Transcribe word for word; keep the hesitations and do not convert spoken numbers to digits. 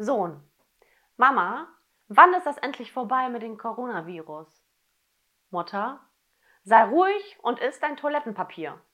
Sohn: Mama, wann ist das endlich vorbei mit dem Coronavirus? Mutter: Sei ruhig und iss dein Toilettenpapier.